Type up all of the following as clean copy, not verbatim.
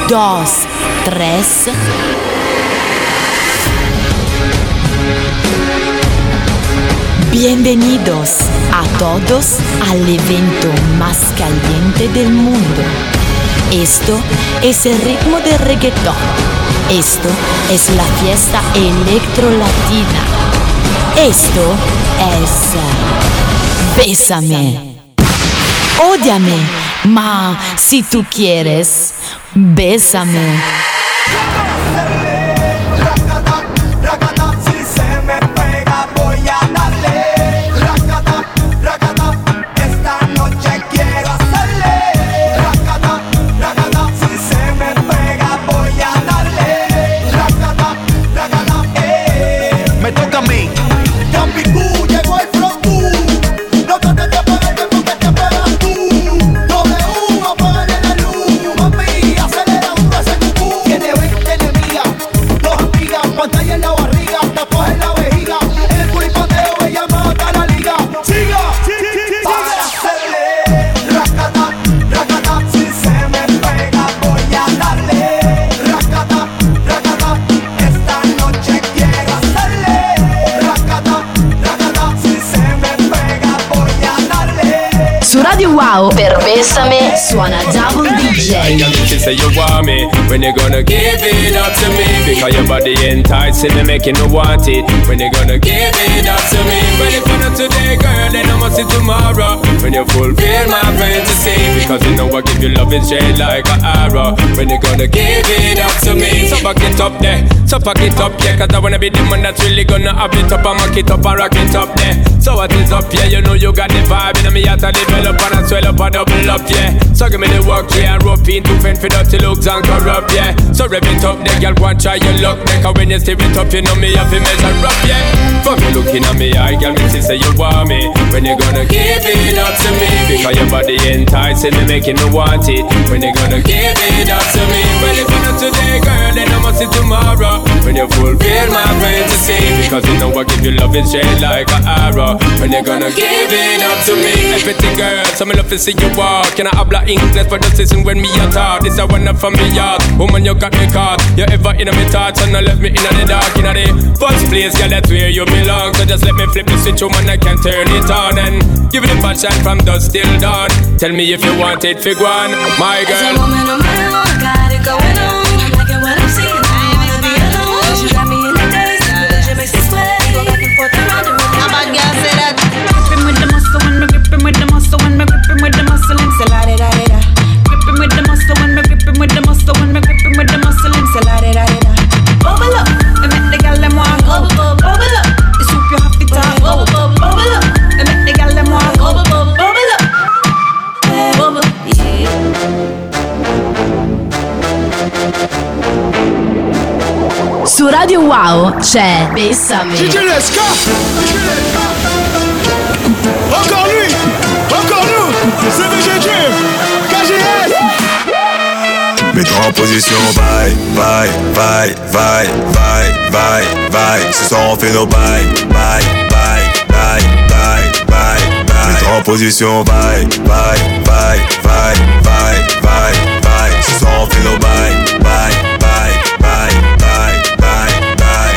2, 3. Bienvenidos a todos al evento más caliente del mundo. Esto es el ritmo del reggaetón. Esto es la fiesta electro-latina. Esto es Bésame. Ódiame, ma si tú quieres, bésame. Wow, per Bésame suona Double DJ. She say you want me, when you gonna give it up to me? Because your body enticing me, making me want it. When you gonna give it up to me? Well, if you're not today, girl, then I must see tomorrow. When you fulfill my fantasy, because you know I give you love and shade like an arrow. When you gonna give it up to me? So back it up there, so pack it up, yeah. Cause I wanna be the man that's really gonna have it up and mock it up and rock it up there. So what is up, yeah, you know you got the vibe. And me out to develop and I swell up and double up, yeah. So give me the work, yeah. Rope in to fend for dirty looks and corrupt, yeah. So rev it up, there, girl, go and try your luck. Cause when you stir it up, you know me have to measure up, yeah. Fuck you looking at me eye, girl, me say you want me. When you gonna give it up to me? Because your body enticing me, making me want it. When you gonna give it up to me? Well, if you're not today, girl, then I must see tomorrow. When you fulfill my fantasy, because you know I give you love and shade like an arrow. When you gonna give it up to me? Everything, girl, so me love to see you walk. Can I habla English for the season when me a talk? This a one up from me yard. Woman, you got me caught. You ever in my thoughts and I left me in the dark. In the first place, girl, that's where you belong. So just let me flip the switch, woman, I can turn it on. And give it a bad shot from dusk till dawn. Tell me if you want it, fig one, my girl. As a woman on my own, I got it going on. I'm liking what I'm seeing, I ain't wanna be alone. You got me in the days, the religion makes it sweat. Go back and forth around and round. A bad girl say that. Gripping with the muscle when me gripping with the muscle when me gripping with the muscle and say la da da da. Gripping with the muscle when me gripping with the muscle when me gripping with the muscle and say la da da da. Bubble up, and make the gal them want bubble bubble. Bubble up, the soup you have to talk bubble bubble. Bubble up, and make the gal them want bubble bubble. Bubble up, bubble yeah. Su Radio Wow c'è Bésame. Encore lui, encore nous, c'est VGG, KGS. Mets-toi en position, bye, bye, bye, bye, bye, bye, bye. Ce soir on fait nos bye, bye, bye, bye, bye, bye, bye. Mets-toi en position, bye, bye, bye, bye, bye, bye, bye. Ce soir on fait nos bye, bye, bye, bye, bye, bye, bye.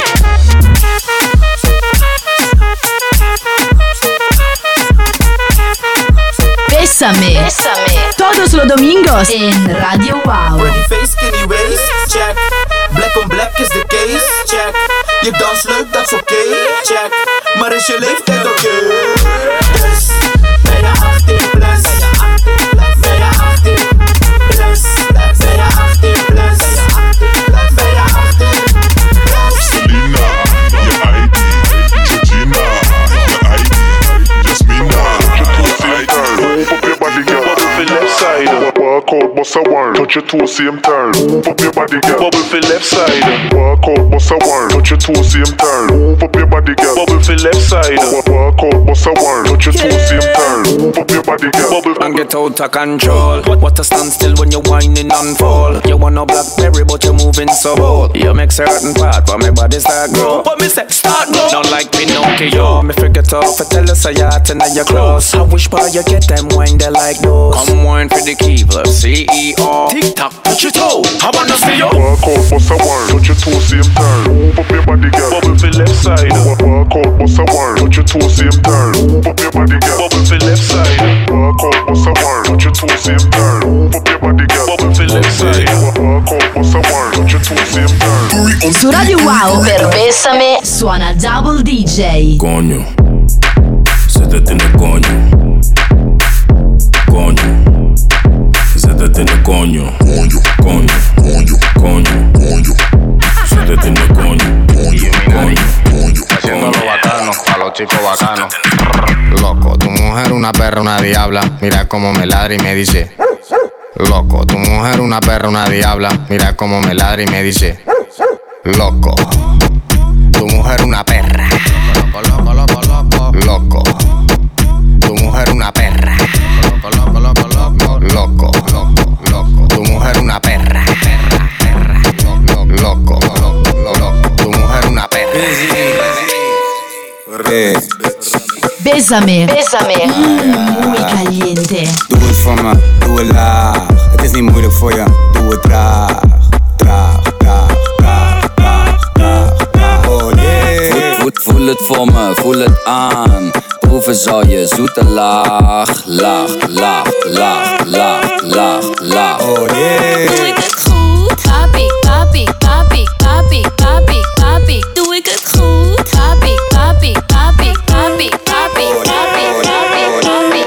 Bésame. Todos los domingos en Radio Wow. Pretty face, skinny waist, check. Black on black is the case, check. Je dans leuk, dat is oké, check. Maar is je leeftijd oké? Dus ben je 18 plus? Ben je 18 plus? Ben je 18 plus? Ben je 18 plus? Selena, je ID. Georgina, je ID. Jasmina, je ID. Pop your body, girl. Bubble for left side. Walk out, bust a word. Touch your toe, same turn. Pop your body, girl. Bubble for left side. Walk out, bust a word. Touch your toe, same turn. Pop your body, girl. Bubble for left side. Walk out, bust a word. Touch your toe, same turn. Pop your body. body, girl. And get out of control. What a stand still when you're whining and fall. You want a blackberry but you're moving so bold. You make certain part but my body start grow. But me say start grow. Not like Pinocchio. Me forget off, I tell us a yacht and your clothes. I wish by you get them wine they like those. Come wine for the Keebler, CEO. Tick tock, touch your toe. I wanna see you. Walk out, bust a wine, touch your toe, same turn. Move up your body, girl. Bubble for left side. Walk out, bust a wine, touch your toe, same turn. Move up your body, girl. Bubble for left side. Walk out, bust a wine, touch your toe, same turn. Move up your body, girl. Bubble for left side. Walk out, bust a wine, touch your toe, same turn. Su Radio Wow per Bésame suona Double DJ. Coño, se te tiene coño. Coño, se te tiene coño. Coño, coño, coño, coño, coño. Se te tiene coño. Coño, haciéndolo bacano, a los chicos bacanos. Loco, tu mujer una perra, una diabla. Mira cómo me ladra y me dice. Loco, tu mujer una perra, una diabla. Mira cómo me ladra y me dice. Loco, tu mujer una perra. Loco, loco, loco, loco. Loco, tu mujer una perra. Loco, loco, loco, loco. Loco, loco, loco. Tu mujer una perra. Perra, perra. Loco, loco, loco. Tu mujer una perra. Bésame, bésame. Muy caliente. Doe het voor me, doe het laag. Het is niet moeilijk voor je, doe het traag. Traag, traag, traag, traag, traag, traag. Oh yeah. Voel het voor me, voel het aan. Proeven zal je zoete laag. Laag, laag, laag, laag, laag, laag. Oh yeah. Doe ik het goed? Papi, papi, papi, papi, papi, papi. Doe ik het goed? Papi, papi, papi, papi, papi, papi, papi, papi, papi,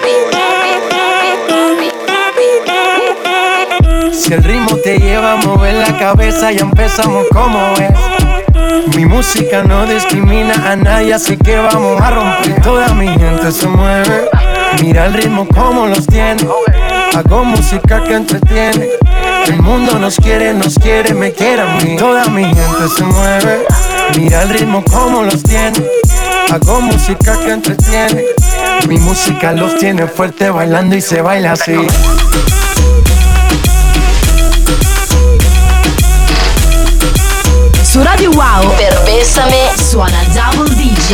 papi. Si el ritmo te lleva a mover la cabeza, ya empezamos como es. Mi música no discrimina a nadie, así que vamos a romper. Toda mi gente se mueve. Mira el ritmo como los tiene. Hago música que entretiene. El mundo nos quiere, me quiere a mí. Toda mi gente se mueve. Mira el ritmo como los tiene. Hago música que entretiene. Mi música los tiene fuerte bailando y se baila así. Su Radio Wow per Bésame suona Double DJ.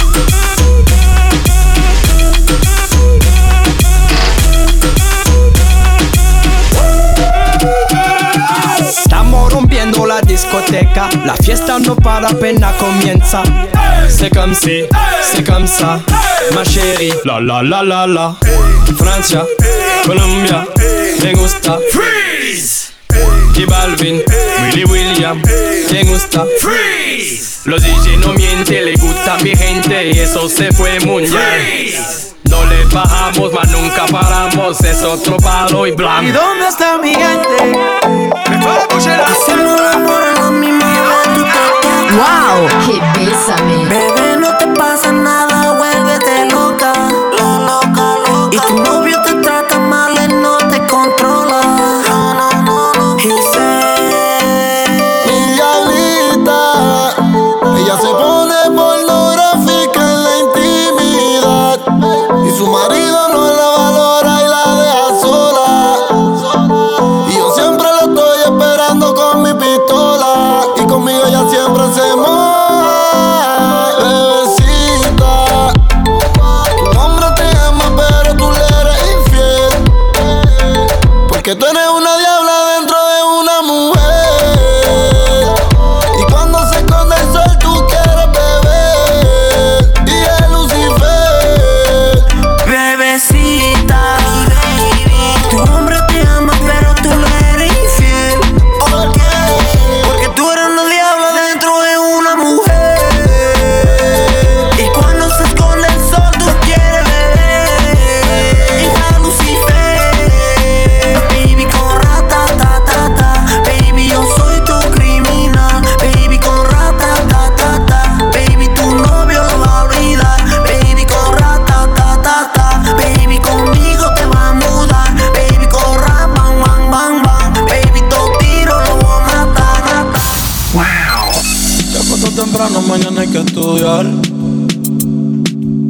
Estamos rompiendo la discoteca, la fiesta no para apenas comienza. C'est comme si, c'est comme ça, ma chérie. La la la la la. Francia, Colombia, me gusta. Freeze. J Balvin, Willy William, me gusta. Freeze. Los DJ no mienten, le gusta mi gente y eso se fue mundial. Freeze. No le bajamos, mas nunca paramos, es otro palo y blanco. ¿Y dónde está mi gente? Hacemos el amor a la misma vez. Wow, que bésame. Bebé, no te pasa nada, vuélvete loca. Loca, loca. Y tu novio te trata mal, él no te controla. No. Y mi diablita, ella se pone pornográfica en la intimidad. Y su marido no la valora y la deja sola. Y yo siempre la estoy esperando con mi pistola. Y conmigo ella siempre se moja.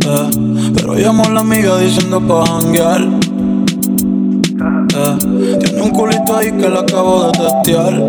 Pero llamó a la amiga diciendo pa' janguear. Tiene un culito ahí que la acabo de testear.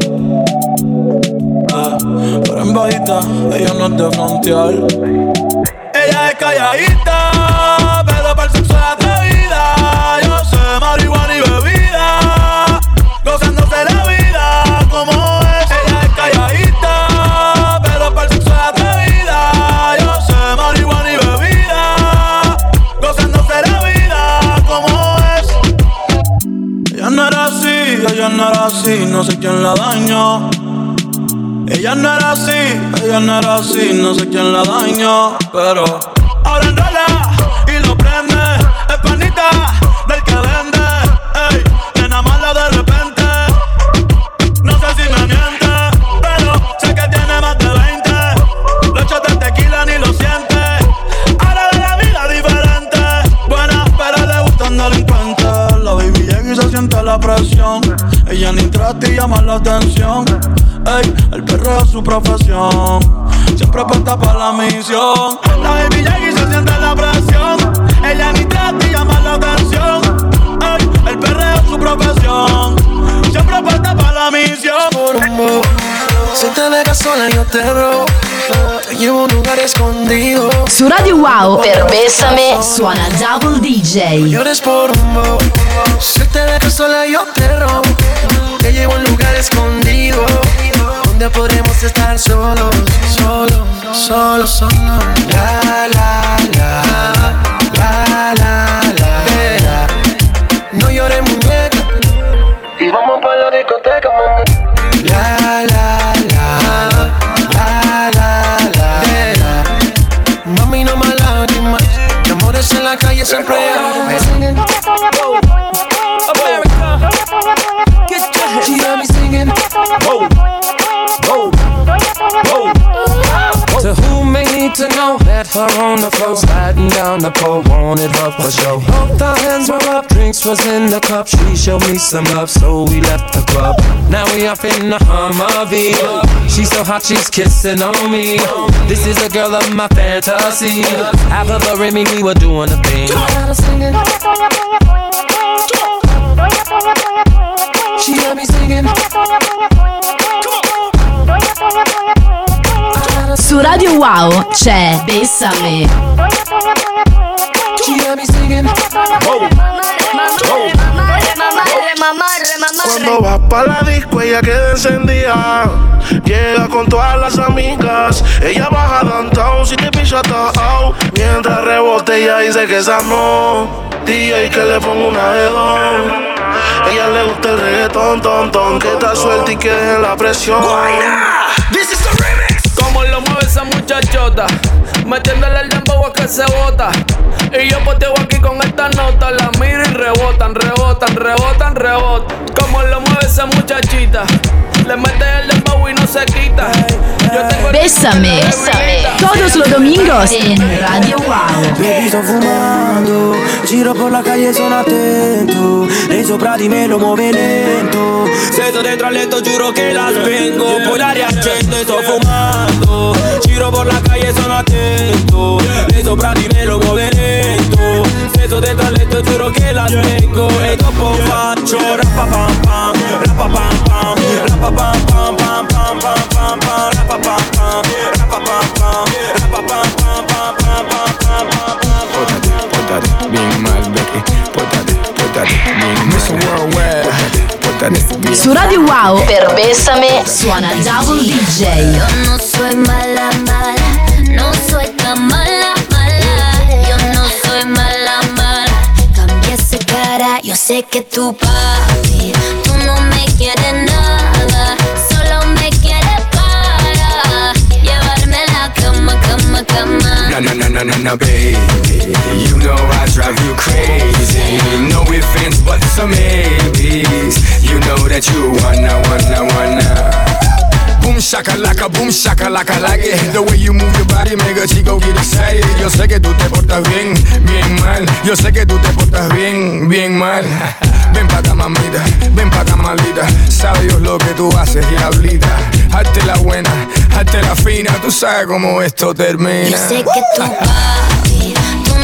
Pero en bajita, ella no es de frontear. Ella es calladita, pero para el sexo es atrevida. Yo sé marihuana y bebida, gozándose la vida como es. Ella es calladita, pero para el sexo es atrevida. Yo sé marihuana y bebida, gozándose la vida como es. Ella no era así, no sé quién la dañó. Ella no era así, no sé quién la dañó. Pero ahora enrola y lo prende. Es panita del que vende. Ey, nena mala de repente. No sé si me miente, pero sé que tiene más de 20. Los shots de tequila ni lo siente. Ahora de la vida diferente. Buena, pero le gustan delincuentes. La baby llega y se siente la presión. Ella ni trata y llama la atención. Ey, el perreo es su profesión. Siempre apunta pa' la misión. La baby llega y se siente la presión. Ella ni trata y llama la atención. Ey, el perreo es su profesión. Siempre apunta pa' la misión. Si te dejas sola yo te robo. Te llevo a un lugar escondido. Su Radio Wow per Bésame suona Double DJ. Llores por rumbo. Si te dejas sola yo te robo. Te llevo a un lugar escondido, donde podremos estar solos, solos. La, la, la, la, la, la. No llores, muñeca, y vamos pa' la discoteca, mami. La, la, la, la, la, la. Mami, no más lágrimas, que amores en la calle siempre hay. She got me singing. Whoa, whoa, whoa. To whom may need to know, met her on the floor, sliding down the pole, wanted her for show. Both our hands were up, drinks was in the cup. She showed me some love, so we left the club. Now we off in the Humvee. She's so hot, she's kissing on me. This is a girl of my fantasy. Half of her and me, we were doing a thing. She got me singing. Su Radio Wow c'è Bésame. She got me singing. Cuando vas pa' la disco ella queda encendida. Llega con todas las amigas. Ella baja downtown si te pilla todo. Mientras rebote ella dice que esa no. DJ que le pongo una de dos. Ella le gusta el reggaetón, ton, que está suelta y que deje la presión. This is the remix. Como lo mueve esa muchachota, metiéndole el dembow a que se bota. Y yo poteo aquí con esta nota, la miro y rebotan. Como lo mueve esa muchachita, le mete el dembow y no se quita. Bésame. Todos los domingos en Radio Wow. Baby, sto fumando, giro por la calle, sono attento. Lei sopra di me lo muove lento. Se sto dentro al letto giuro che la spengo. Poi la riaccendo e sto fumando. Giro por la calle, sono attento. Lei sopra di me lo muove lento. Se sto dentro al letto giuro che la spengo. E dopo faccio rapapam pam, rapapam pam, rapapam pam pam pam pam pam pam, rapapam pam, rapapam pam, rapapam pam pam pam pam pam pam. Pótate, bien mal, Becky. Pótate, bien Mr. Worldwide. Su Radio Wow per Bésame suona Double DJ. Yo no soy mala, no soy tan mala. Yo no soy mala. Cambia esa cara, yo sé que tu papi, tú no me quieres nada, solo me quieres para llevarme a la cama. No, baby. You know I drive you crazy. No offense, but some maybes. You know that you wanna. Boom shakalaka, like it. The way you move your body make a chico get excited. Yo sé que tú te portas bien mal. Yo sé que tú te portas bien mal. Ven pa' acá, mamita, ven pa' acá, malita. Sabe Dios lo que tú haces, diablita. Hazte la buena, hazte la fina. Tú sabes cómo esto termina. Yo sé que tu papi, tú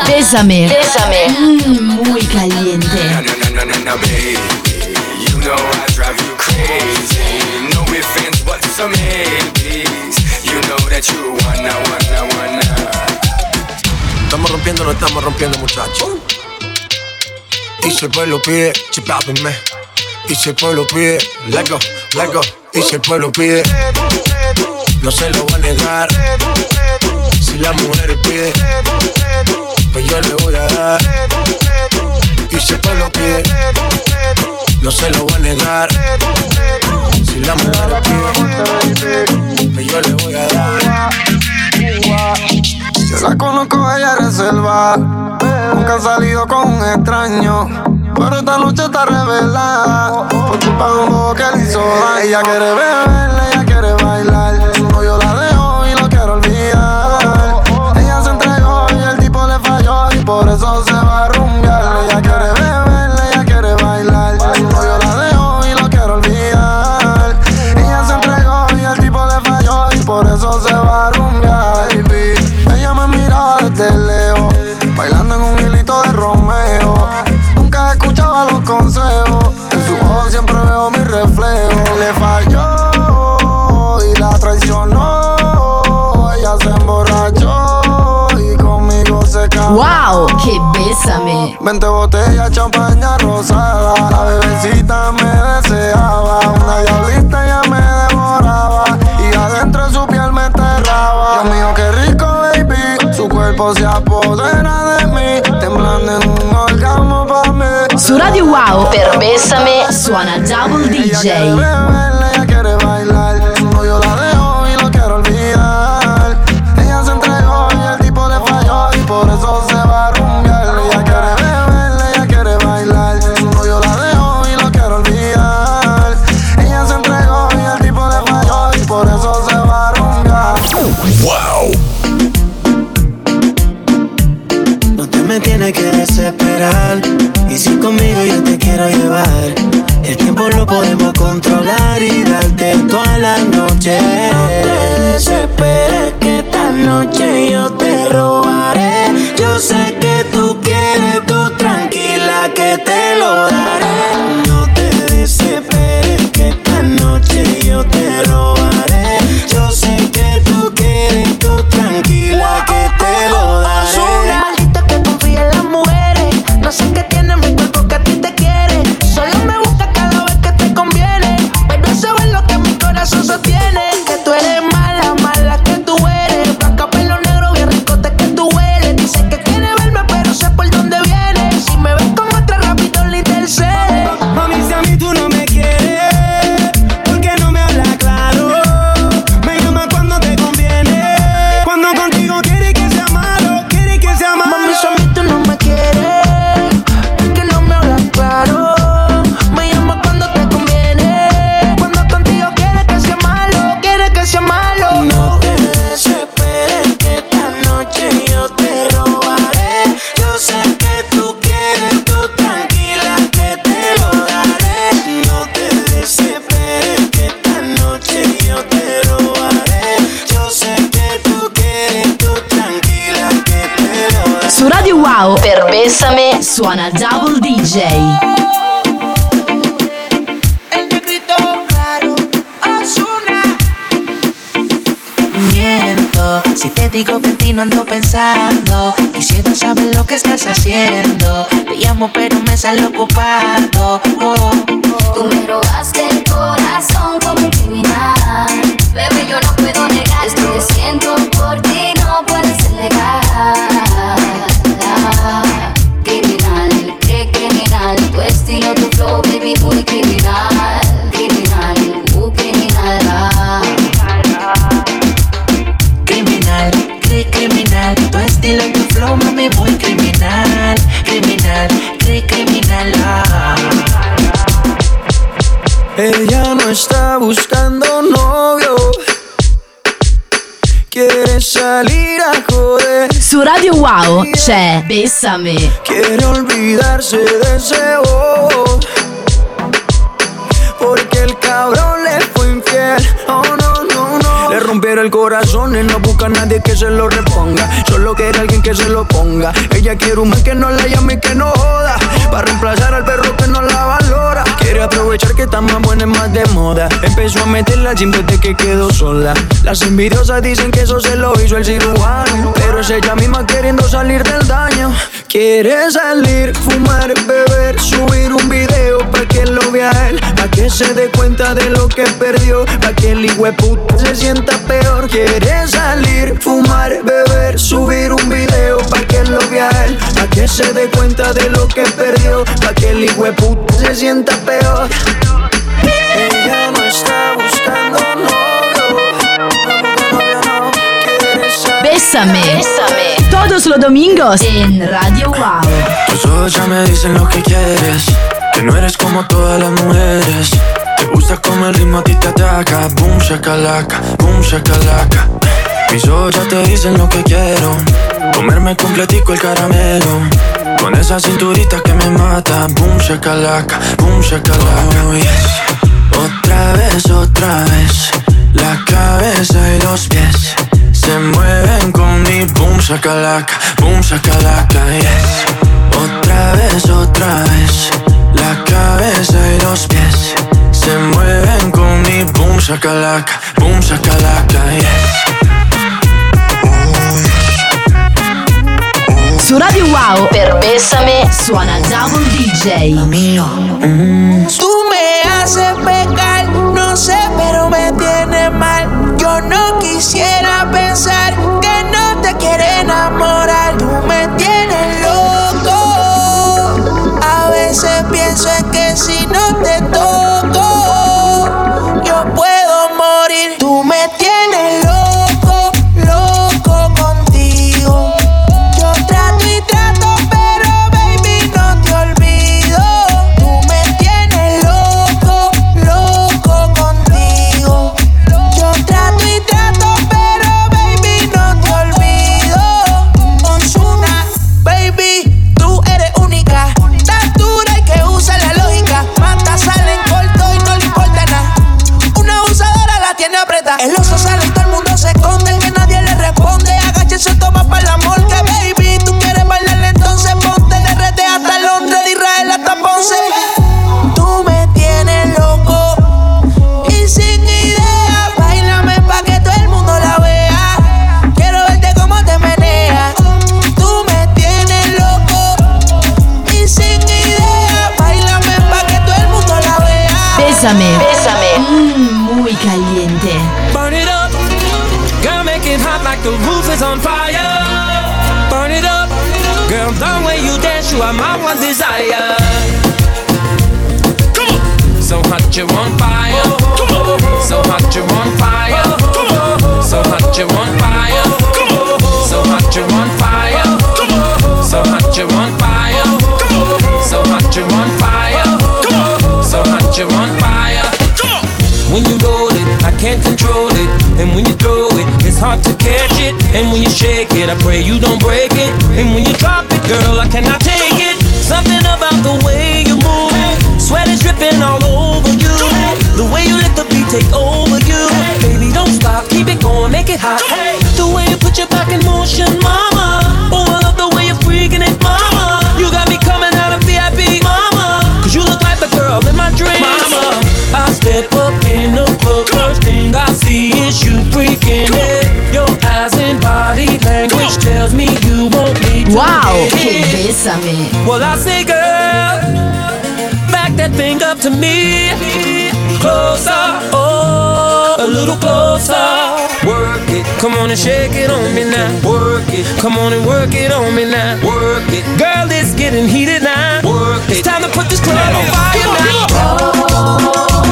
Bésame. Muy caliente. No, baby, you know I drive you crazy. No offense, but some maybes. You know that you wanna. Estamos rompiendo, no estamos rompiendo, muchachos. Y si el pueblo pide, chipápenme. Y si el pueblo pide, let go. Y si el pueblo pide, no se lo voy a negar. Si la mujer pide, pues yo le voy a dar. Y si el pueblo pide, no se lo voy a negar. Si la mujer pide, pues yo le voy a dar. Yo la conozco, ella es reserva. Nunca ha salido con un extraño, pero esta noche está revelada. Por culpa de un bobo que le hizo daño. Ella quiere beber, ella quiere bailar. Su novio la dejó y lo quiero olvidar. Ella se entregó y el tipo le falló, y por eso se va a rumbear. Ella quiere beber, ella quiere bailar. Su novio la dejó y lo quiero olvidar. Ella se entregó y el tipo le falló, y por eso se va a rumbear. Ella me miraba desde lejos, bailando en un hilito de Romeo. Nunca escuchaba los consejos, en su ojos siempre veo mi reflejo. Le falló y la traicionó. Ella se emborrachó y conmigo se casó. ¡Wow! ¡Qué bésame! 20 botellas, champaña rosada. La bebecita me deseaba. Una diablita ya me devoraba, y adentro de su piel me enterraba. Dios mío, qué rico, baby. Su cuerpo se apodera de mí, temblando en un orgasmo pa' mí. Su Radio Wow, per Bésame, suona Double DJ. Ella quiere bailar. Su novio la dejó y lo quiero olvidar. Ella se entregó y el tipo le falló, y por eso se va a rumbear. Ella quiere beber, ella quiere bailar. Su novio la dejó y lo quiero olvidar. Ella se entregó y el tipo le falló, y por eso se va a rumbear. Wow. No te me tienes que desesperar, y si conmigo yo te quiero llevar, el tiempo lo podemos controlar y darte toda la noche. No te desesperes que esta noche yo te robaré. Yo sé que tú quieres, tú tranquila que te lo daré. No te desesperes que esta noche yo te robaré. Yo sé que tú quieres, tú tranquila que te lo daré. Que confía en las mujeres, no sé qué tiene mi cuerpo que a ti te quiere. Solo me busca cada vez que te conviene, pero eso es lo que mi corazón sostiene. Que tú eres mala, mala que tú eres. Blanca, pelo negro, bien ricote que tú eres. Dice que quiere verme, pero sé por dónde viene. Si me ves con otra, rápido le intercede. Mami, si a mí tú no me quieres, ¿por qué no me hablas claro? Me llamas cuando te conviene, cuando contigo quieres que sea malo, quieres que sea malo. Mami, si a mí tú no me quieres, ¿por qué no me hablas claro? Me llamas cuando te conviene, cuando contigo quieres que sea malo, quieres que sea malo. No te desesperes que esta noche yo te robaré. Yo sé que tú quieres, tú tranquila que te lo daré. No te desesperes que esta noche yo te robaré. Yo sé que tú quieres, tú tranquila que te lo daré. Su Radio Wow, per Bésame, suona Double DJ. El negrito claro, Ozuna. Miento, si te digo que en ti no ando pensando. Quisiera saber lo que estás haciendo. Te llamo pero me sale ocupado. Tú me robaste el corazón como un criminal. Bebé, yo no puedo negar esto que siento por ti, no puede ser legal. Criminal, qué criminal. Tu estilo, tu flow, baby, muy criminal. Criminal, criminal. Criminal, criminal. Tu estilo y tu flow, mami, muy criminal. Criminal, criminal. Ella no está buscando novio, quiere salir a joder. Su Radio Wow c'è Bésame. Quiere olvidarse de ese bobo, porque el cabrón le fue infiel. Oh no, no, no. Le rompiera el corazón y no busca a nadie que se lo reponga. Solo quiere alguien que se lo ponga. Ella quiere un man que no la llame y que no joda, para reemplazar al perro que no la valora. Quiere aprovechar que está más buena y más de moda. Empezó a meterla al gym desde que quedó sola. Las envidiosas dicen que eso se lo hizo el cirujano, pero es ella misma queriendo salir del daño. Quiere salir, fumar, beber, subir un video pa' que lo vea él, pa' que se dé cuenta de lo que perdió, pa' que el hijueputa se sienta peor. Quiere salir, fumar, beber, subir un video pa' que lo vea él, pa' que se dé cuenta de lo que perdió, pa' que el hijueputa se sienta peor. Ella no está buscando novio. Bésame. Todos los domingos en Radio Wow. Tus ojos ya me dicen lo que quieres, que no eres como todas las mujeres. Te gusta como el ritmo a ti te ataca. Boom shakalaka, boom shakalaka. Mis ojos ya te dicen lo que quiero, comerme completico el caramelo, con esa cinturita que me mata. Boom shakalaka, boom shakalaka. Oh, yes. Otra vez, la cabeza y los pies se mueven con mi boom shakalaka, yes. Otra vez, la cabeza y los pies se mueven con mi boom shakalaka, yes. Su Radio Wow per Bésame suona Double DJ. Tú me haces pecar, no sé, pero me tienes mal. Yo no quisiera pensar que no te quiere enamorar. Tú me tienes loco. A veces pienso en que si no te toco, yo puedo morir. Tú me tienes loco, loco contigo. Yo trato y trato, pero baby no te olvido. Tú me tienes loco, loco contigo. Yo trato y trato, pero baby no te olvido. Ozuna, baby, tú eres única. Tan dura y que usa la lógica. Mata, sale en corto y no le importa nada. Una abusadora la tiene apretada. El oso sale y todo el mundo se esconde, el que nadie le responde. Agáchese, toma para el amor que baby. Tú quieres bailarle, entonces ponte de RD hasta Londres, de Israel hasta Ponce. Tú me tienes loco y sin idea. Báilame pa' que todo el mundo la vea. Quiero verte cómo te meneas. Tú me tienes loco y sin idea. Báilame pa' que todo el mundo la vea. Bésame. Muy caliente. Burn it up, girl, make it hot like the roof is on fire. Burn it up, girl, the way you dance, you are my one desire. Come on. So hot you're on fire. Come on. So hot you're on fire. Come on. So hot you're on fire. Come on. So hot you're on fire. Come on. So hot you're on fire. Come on. So hot you're on fire. Come on. So hot you're on fire. Come on. When you roll it, I can't control it. And when you throw it, it's hard to catch it. And when you shake it, I pray you don't break it. And when you drop it, girl, I cannot take it. Something about the way you move, sweat is dripping all over you. The way you let the beat take over you. Baby, don't stop, keep it going, make it hot. The way you put your back in motion, mama. Oh, I love the way you're freaking it, mama. You got me coming out of VIP, mama. Cause you look like the girl in my dreams, mama. I step up in the club, first thing I see is you freaking it. Your eyes and body language tells me you won't need to. Wow, che bésame. Well, I say, girl, back that thing up to me. Closer, oh, a little closer. Work it, come on and shake it on me now. Work it, come on and work it on me now. Work it, girl, it's getting heated now. Work it, it's time to put this club on fire now.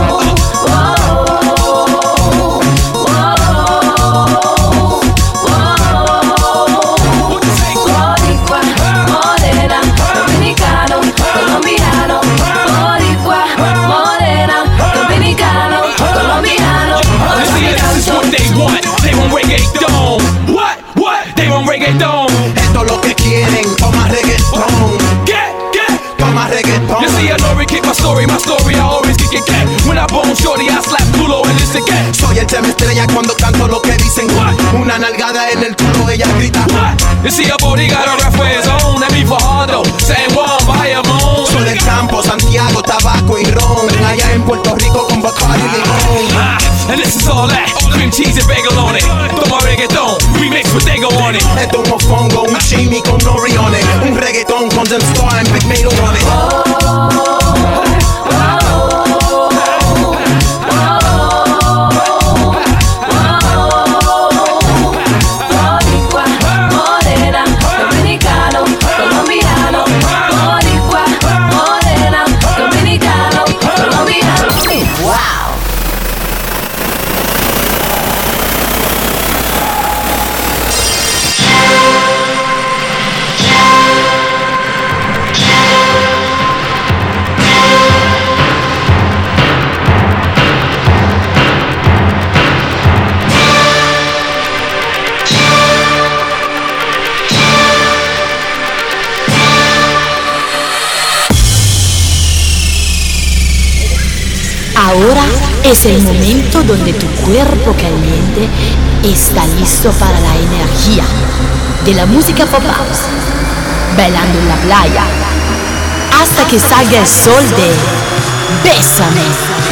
Reggaeton. Esto es lo que quieren, toma reggaeton. Toma reggaeton. You see, I know kick my story, I always kick it. When I bone shorty, I slap Tulo and listen again. Soy el tema estrella cuando canto lo dicen una nalgada en el chorro, ella grita. You see a body got a rough way zone. Let me Fajardo, San Juan, Bayamón. Soy del campo, Santiago, tabaco y ron. Allá en Puerto Rico con Bacardi y limón. And this is all that, cream cheese and bagel on it. Toma reggaeton, remix with Dago on it. Esto es un mofongo, un chimi con nori on it. Un reggaeton con Dem Star and Big Mato on it. Ahora es el momento donde tu cuerpo caliente está listo para la energía de la música pop house, bailando en la playa, hasta que salga el sol de Bésame.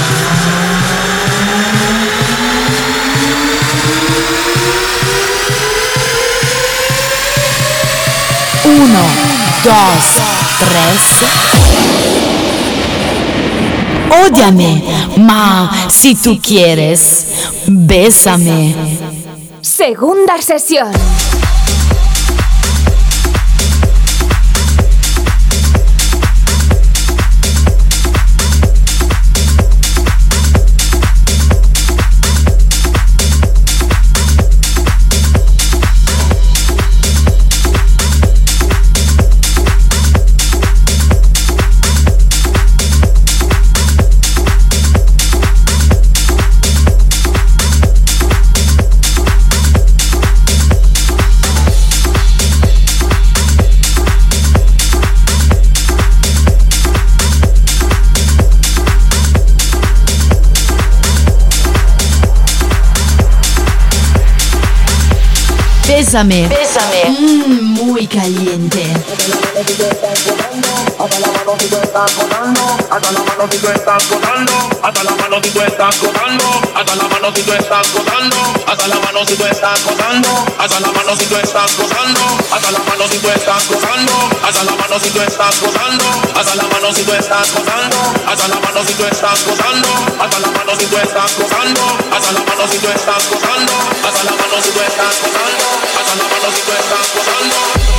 Uno, dos, tres. Ódiame, ma si tú quieres, bésame. Segunda sesión. Bésame. Bésame. Muy caliente. Hasta la mano si tú estás gozando, hasta la mano si tú estás gozando, hasta la mano si tú estás gozando, hasta la mano si tú estás gozando, hasta la mano si tú estás gozando, hasta la mano si tú estás gozando, hasta la mano si tú estás gozando, hasta la mano si tú estás gozando, hasta la mano si tú estás gozando, hasta la mano si tú estás gozando, hasta la mano si tú estás gozando, hasta la mano si tú estás gozando, hasta la mano si tú estás gozando, hasta la mano si tú estás gozando.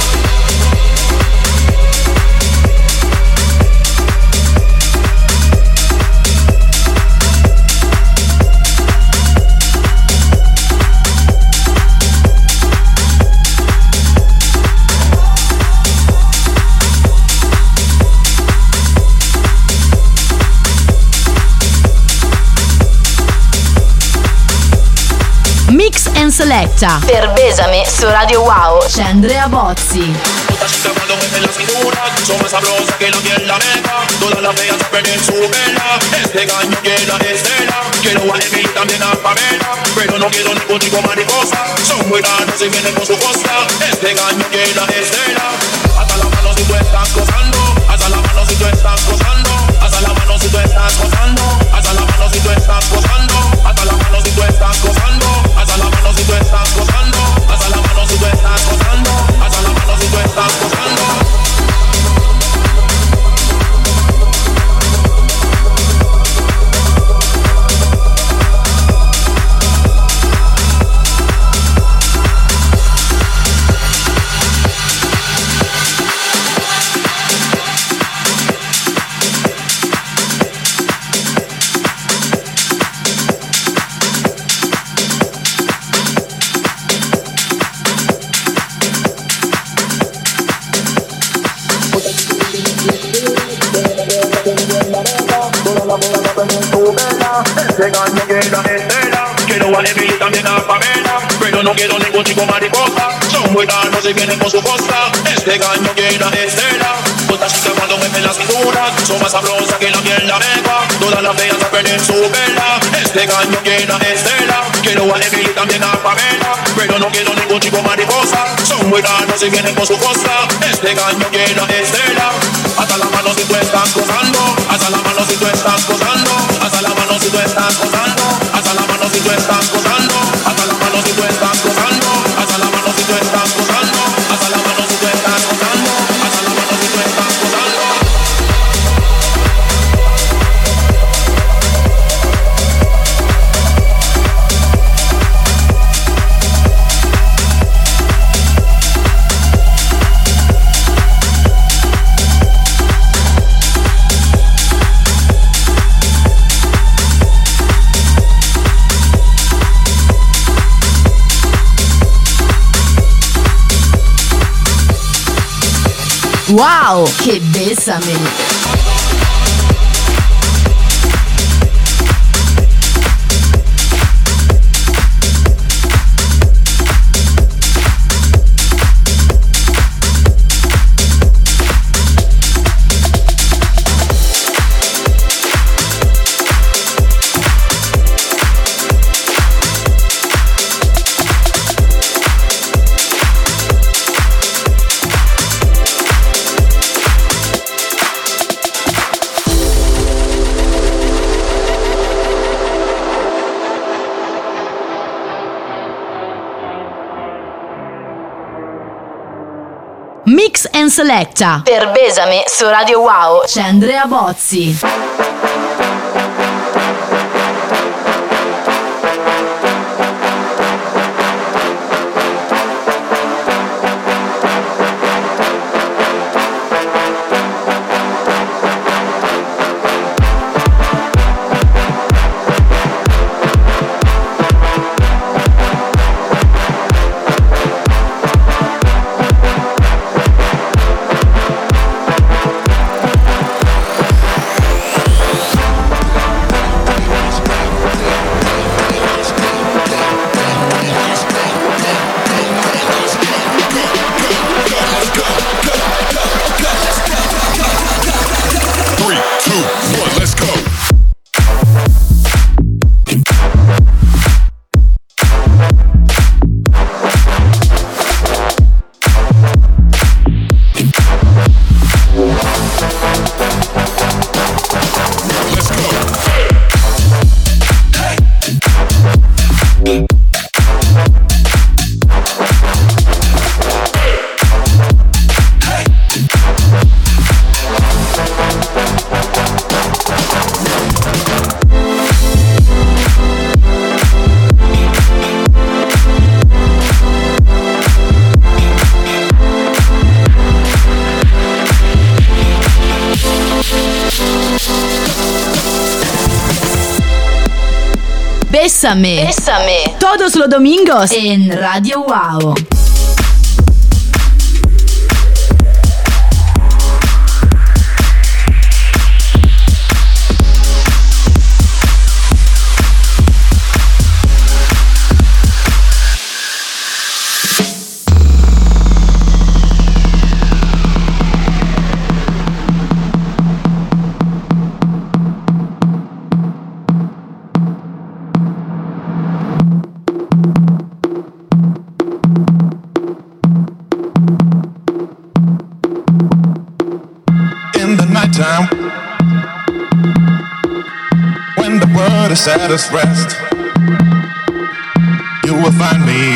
Mix and Selecta per Bésame su Radio Wow c'è Andrea Bozzi. Cuando mueve la cintura, son más sabrosas que la miel la meta. Todas las feas perden su vela. Este gallo quiere la estela. Quiero a Emily, también a Pamela, pero no quiero ningún chico mariposa. Son muy raros y vienen con su costa. Este gallo quiere la estela. Hasta la mano si tú estás gozando, hasta la mano si tú estás gozando, hasta la mano si tú estás gozando, hasta la mano si tú estás gozando, hasta la mano si tú estás gozando, hasta la mano si tú estás gozando, hasta la mano si tú estás gozando, hasta la mano si tú estás gozando. Quiero a Emily, también a Pamela, pero no quiero ningún chico mariposa. Son muy raros y vienen con su costa. Este gallo quiere la estela. Todas chicas cuando mueven la cintura, son más sabrosas que la miel la mega. Todas las feas a perder su vela. Este gallo quiere la estela. Quiero a Emily también a Pamela, pero no quiero ningún chico mariposa. Son muy raros y vienen con su costa. Este gallo quiere a Estela. Hasta la mano si tú estás gozando. Hasta la mano si tú estás gozando. Hasta la mano si tú estás gozando. Hasta la mano si tú estás gozando. Hasta la mano si tú estás gozando. Hasta la mano si tú estás gozando. Hasta la mano si tú estás gozando. Hasta la mano si tú estás gozando. Wow, che bésame! Mix and Selecta per Besame su Radio Wow c'è Andrea Bozzi. Bésame. Todos los domingos en Radio Wow. Time when the world is at its rest, you will find me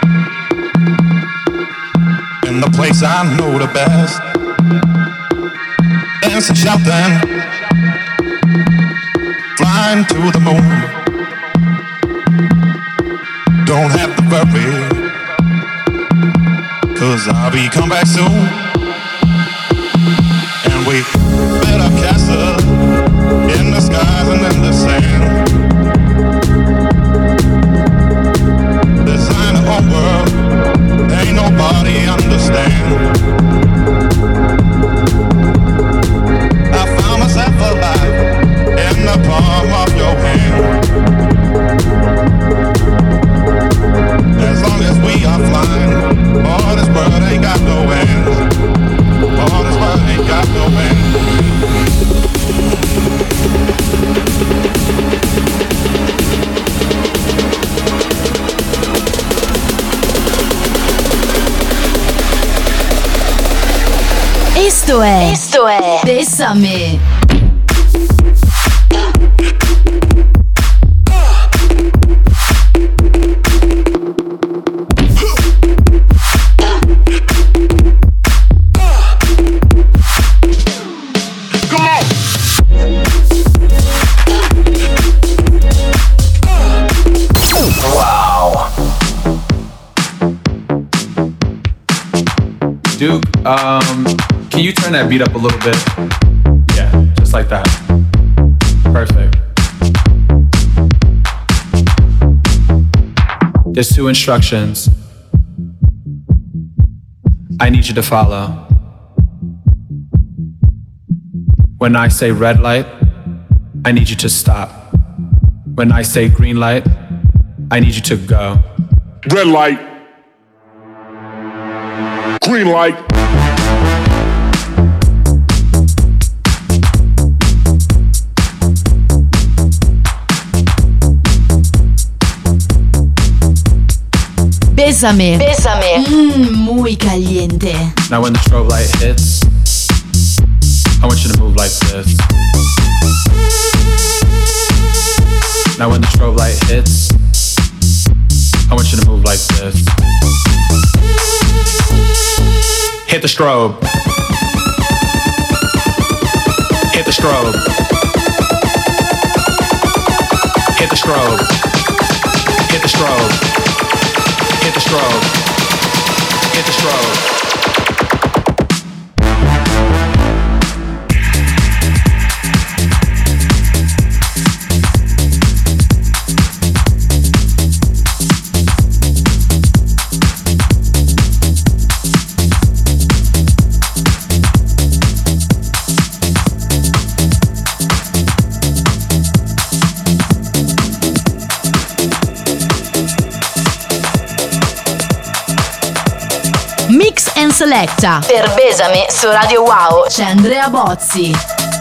in the place I know the best, dancing, shouting, flying to the moon. Don't have to worry, 'cause I'll be come back soon. And we built a castle in the skies and in the sand. Design a whole world, ain't nobody understand. I found myself alive in the palm of your hand. As long as we are flying, all this world ain't got no end. All this world ain't got no end. Esto è Bésame. Duke, can you turn that beat up a little bit? Yeah, just like that. Perfect. There's 2 instructions I need you to follow. When I say red light, I need you to stop. When I say green light, I need you to go. Red light. Green light. Bésame. Muy caliente. Now when the strobe light hits, I want you to move like this. Now when the strobe light hits, I want you to move like this. Hit the strobe. Hit the strobe. Hit the strobe. Hit the strobe. Hit the strobe. Hit the strobe. Mix and Selecta. Per Bésame su Radio Wow c'è Andrea Bozzi.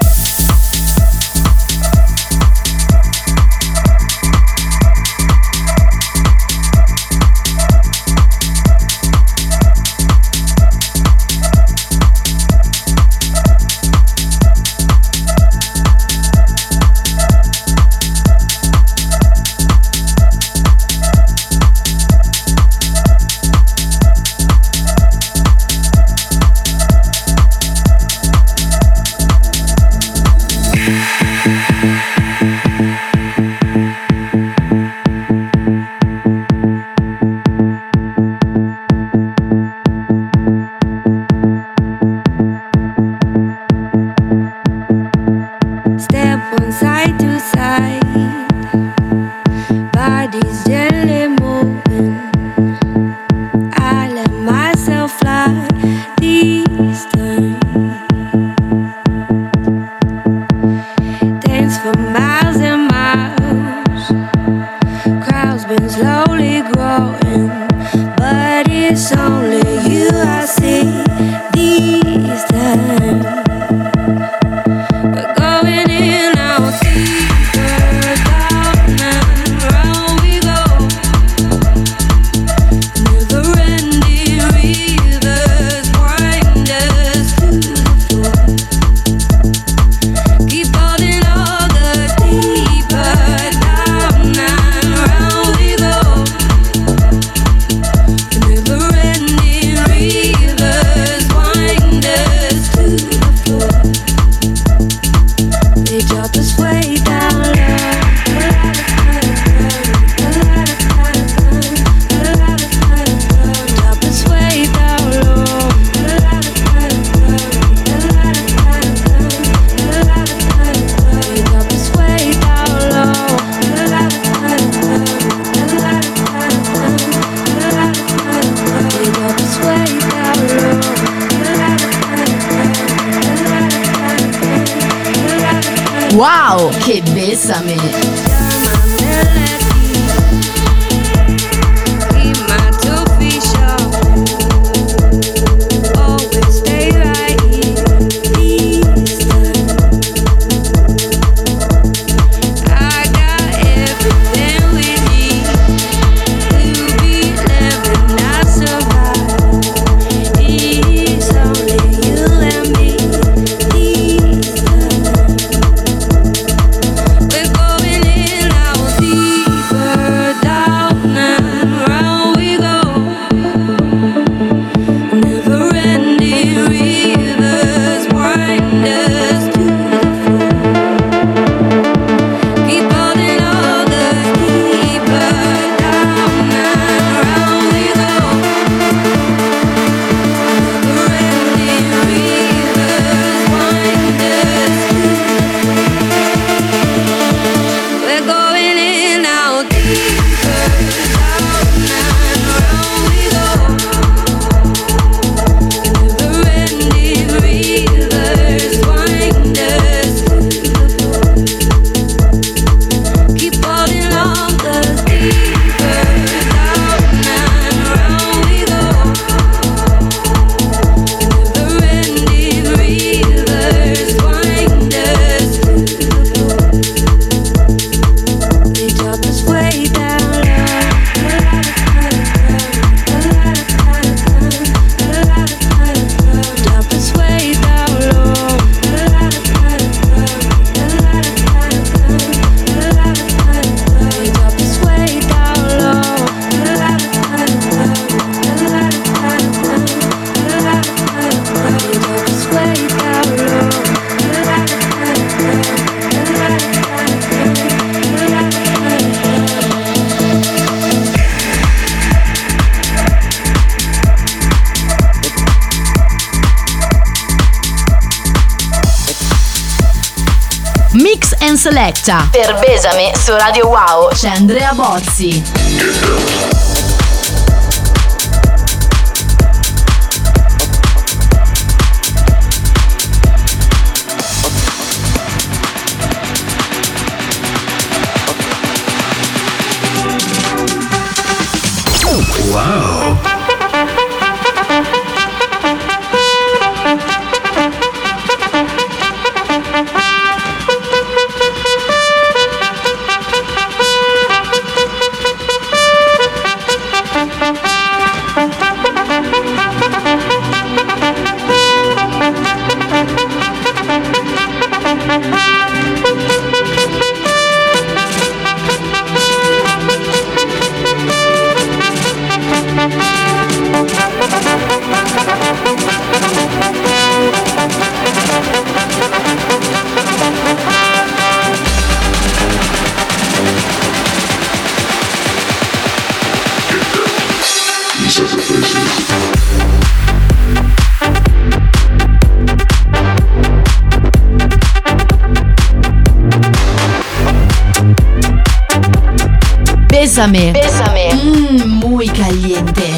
Wow, che bésame! Me Selecta. Per Besame su Radio Wow c'è Andrea Bozzi. Wow. Bésame. Bésame. Muy caliente.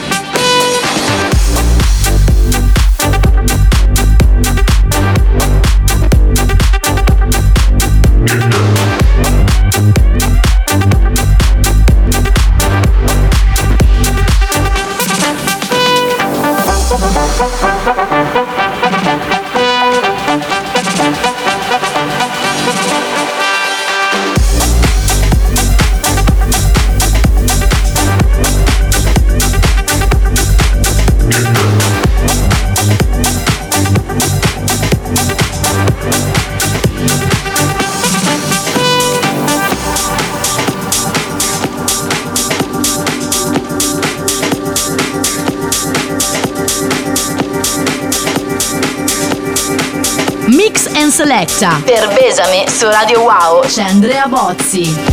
Selecta. Per Besame su Radio Wow c'è Andrea Bozzi.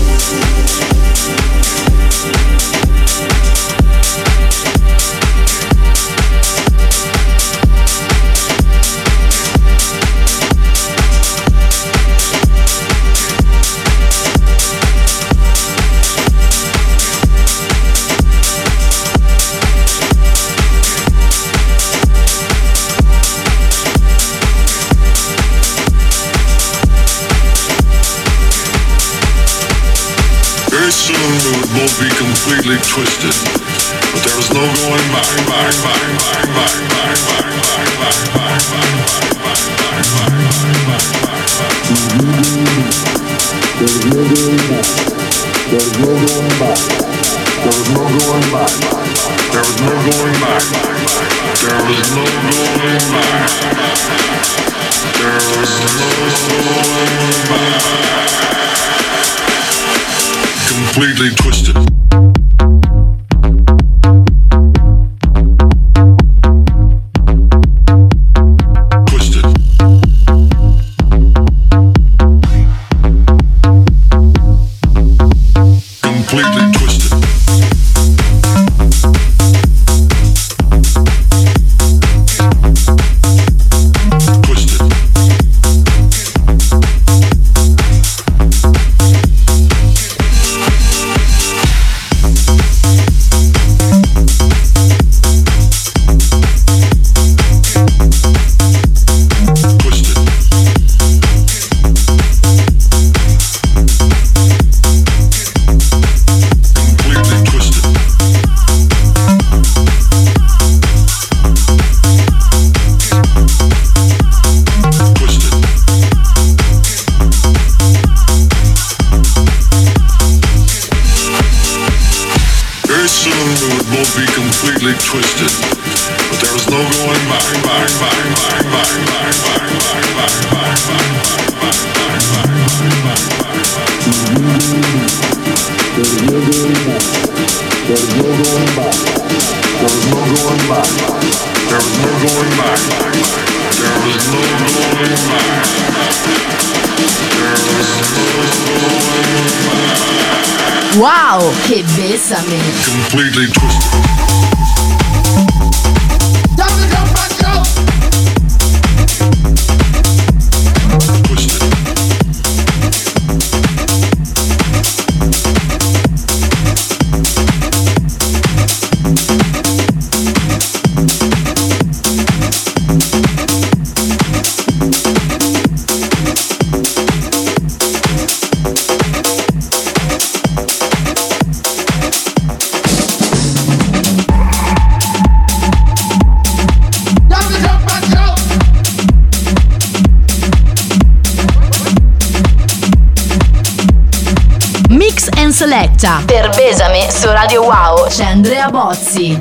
Soon we would both be completely twisted, but there was no going back. Completely twisted. Wow, che bésame! Completely twisted. Twisted. Selecta. Per Besame su Radio Wow c'è Andrea Bozzi.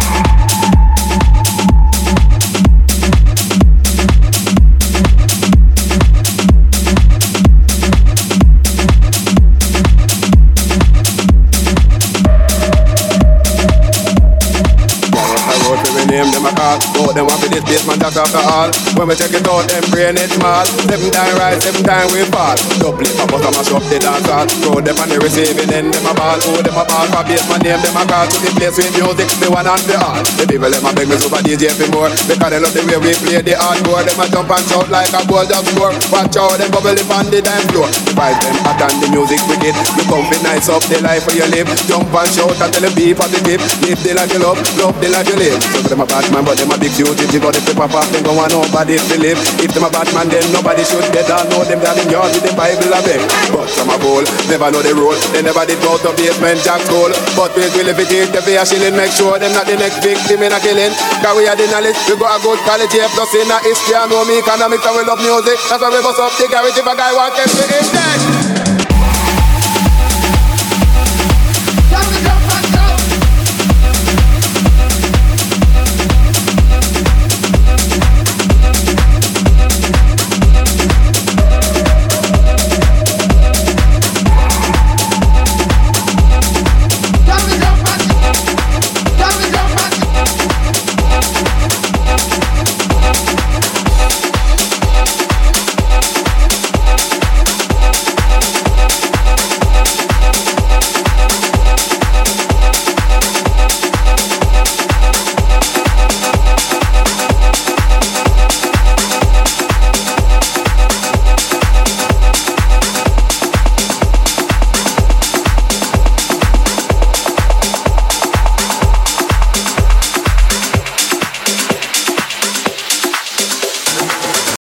Name them a call, both them want for this basement, that's after all. When we check it out, them brain it small. 7 times rise, 7 times we fall. Double it, pop us, mash up the dance hall. Throw them on the receiving end, them a ball. Oh, them a ball for basement, name them a call. To the place with music, the one and the all. The people, them a beg me super DJ for more. Because they love the way we play the hardcore. Them a jump and shout like a goal just score. Watch out, them bubble up on the dance floor. The vibes them hot and the music wicked. You come be nice up the life where you live. Jump and shout and tell them be positive. Live the life you love the life you live. So them a bad man, but them a big duty. But if they pop off, then go on nobody to live. If them a bad man, then nobody should get down. Know them down in yard with the Bible a beg. But some a bowl, never know the rule. They never did go to basement jack school. But we will if it is the fair shilling. Make sure them not the next victim in a killing. Cause we are the knowledge, we got a good quality. Plus in a history, I know me economics and we love music. That's why we bust up the garage if a guy wants to be in dead.